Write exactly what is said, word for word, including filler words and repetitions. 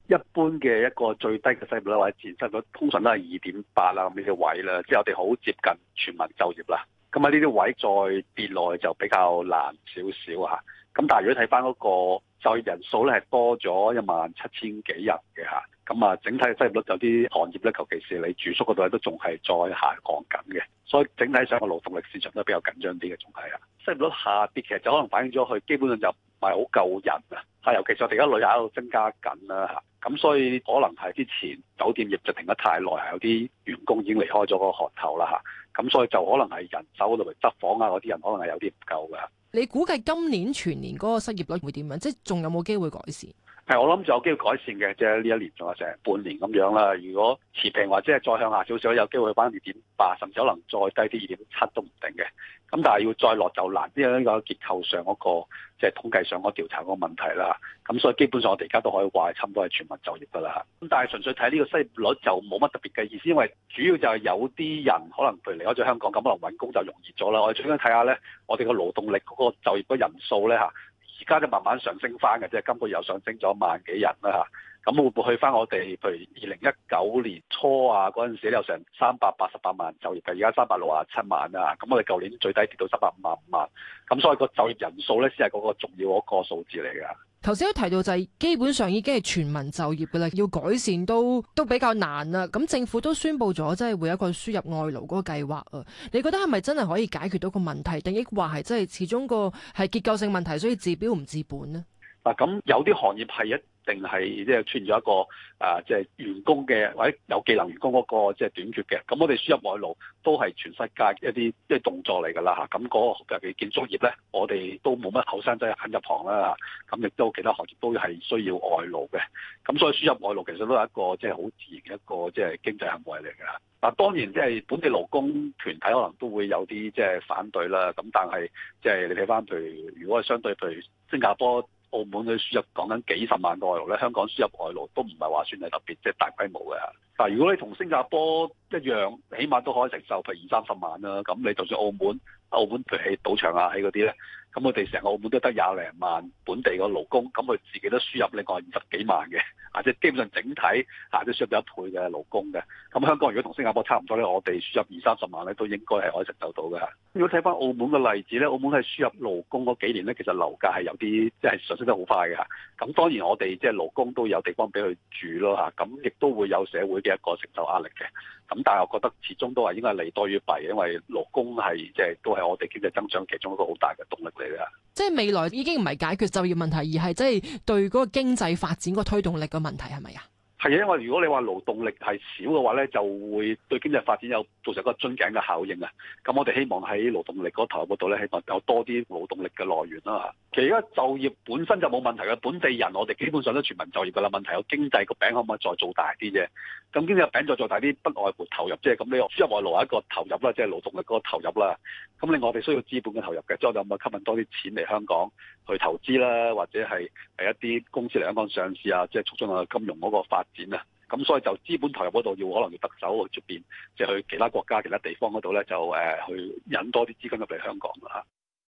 一般嘅一個最低嘅失業率或者自然失業率，通常都係二點八啦咁呢啲位啦，即係我哋好接近全民就業啦。咁喺呢啲位再跌落去就比較難少少嚇。咁但係如果睇翻嗰個就業人數咧，係多咗一萬七千幾人嘅嚇。咁啊，整體嘅失業率有啲行業咧，尤其是你住宿嗰度咧，都仲係再下降緊嘅。所以整體上個勞動力市場都比較緊張啲嘅，仲係啊。失業率下跌其實就可能反映咗佢基本上就唔係好夠人啊。係，尤其是我哋而家旅遊喺度增加緊啦嚇。咁所以可能係之前酒店業就停得太耐，係有啲員工已經離開咗個行頭啦嚇。咁所以就可能係人手嗰度嚟執房啊嗰啲人，可能係有啲唔夠㗎。 你估計今年全年嗰個失業率會點樣？即係仲有冇機會改善？ 係，我諗仲有機會改善嘅，即係呢一年仲有成半年咁樣啦。如果持平或者係再向下少少，有機會翻二點八，甚至可能再低啲二點七都唔定嘅。咁但係要再落就難，因為呢個結構上嗰個即係統計上嗰個調查嗰個問題啦。咁所以基本上我哋而家都可以話係差唔多係全民就業㗎啦。咁但係純粹睇呢個失業率就冇乜特別嘅意思，因為主要就係有啲人可能譬如離開咗香港，咁可能揾工就容易咗啦。我哋最緊睇下咧，我哋個勞動力嗰個就業嗰人數咧嚇。而家就慢慢上升翻嘅，即係今個月又上升咗萬幾人啦嚇。咁會唔會去翻我哋譬如二零一九年初啊嗰陣時有成三百八十八萬就業嘅，而家三百六十七萬啊。咁我哋舊年最低跌到三百五十五萬。咁所以個就業人數咧先係嗰個重要嗰個數字嚟㗎。 頭先都提到就係基本上已經係全民就業㗎啦，要改善都都比較難啦。咁政府都宣布咗，即係會有一個輸入外勞嗰個計劃啊。你覺得係咪真係可以解決到個問題，定抑或係即係始終個係結構性問題，所以治標唔治本呢？ 嗱，咁有啲行業係一定係即係出現咗一個啊，即係員工嘅或者有技能員工嗰個即係短缺嘅。咁我哋輸入外勞都係全世界一啲即係動作嚟㗎啦嚇。咁嗰個尤其建築業咧，我哋都冇乜後生仔肯入行啦。咁亦都其他行業都係需要外勞嘅。咁所以輸入外勞其實都係一個即係好自然嘅一個即係經濟行為嚟㗎。嗱，當然即係本地勞工團體可能都會有啲即係反對啦。咁但係即係你睇翻譬如如果係相對譬如新加坡、澳門嘅輸入講緊幾十萬個外勞咧，香港輸入外勞都唔係話算係特別即係大規模嘅。但係如果你同新加坡一樣，起碼都可以承受譬如二三十萬啦。咁你就算澳門，澳門譬如喺賭場啊喺嗰啲咧，咁我哋成個澳門都得廿零萬本地個勞工，咁佢自己都輸入另外二十幾萬嘅，啊即係基本上整體啊都輸入咗一倍嘅勞工嘅。咁香港如果同新加坡差唔多咧，我哋輸入二三十萬咧都應該係可以承受到嘅。如果睇翻澳門嘅例子咧，澳門係輸入勞工嗰幾年咧，其實樓價係有啲即係上升得好快嘅嚇。咁當然我哋即係勞工都有地方俾佢住咯嚇，咁亦都會有社會嘅一個承受壓力嘅。咁但係我覺得始終都係應該係利多於弊，因為勞工係即係都係我哋經濟增長其中一個好大嘅動力嚟嘅。 即係未來已經唔係解決就業問題，而係即係對嗰個經濟發展個推動力嘅問題，係咪啊？ 係啊，因為如果你話勞動力係少嘅話咧，就會對經濟發展有造成一個樽頸嘅效應啊。咁我哋希望喺勞動力嗰頭嗰度咧，希望有多啲勞動力嘅來源啦。其實而家就業本身就冇問題嘅，本地人我哋基本上都全民就業㗎啦。問題有經濟個餅可唔可以再做大啲啫？咁經濟個餅再做大啲，不外乎投入即係咁。你輸入外勞係一個投入啦，即係勞動力嗰個投入啦。咁另外我哋需要資本嘅投入嘅，即係我哋有冇吸引多啲錢嚟香港去投資啦，或者係係一啲公司嚟香港上市啊，即係促進個金融嗰個發展啊。咁所以就資本投入嗰度要可能要特首去出邊，即係去其他國家、其他地方嗰度咧，就誒去引多啲資金入嚟香港啦。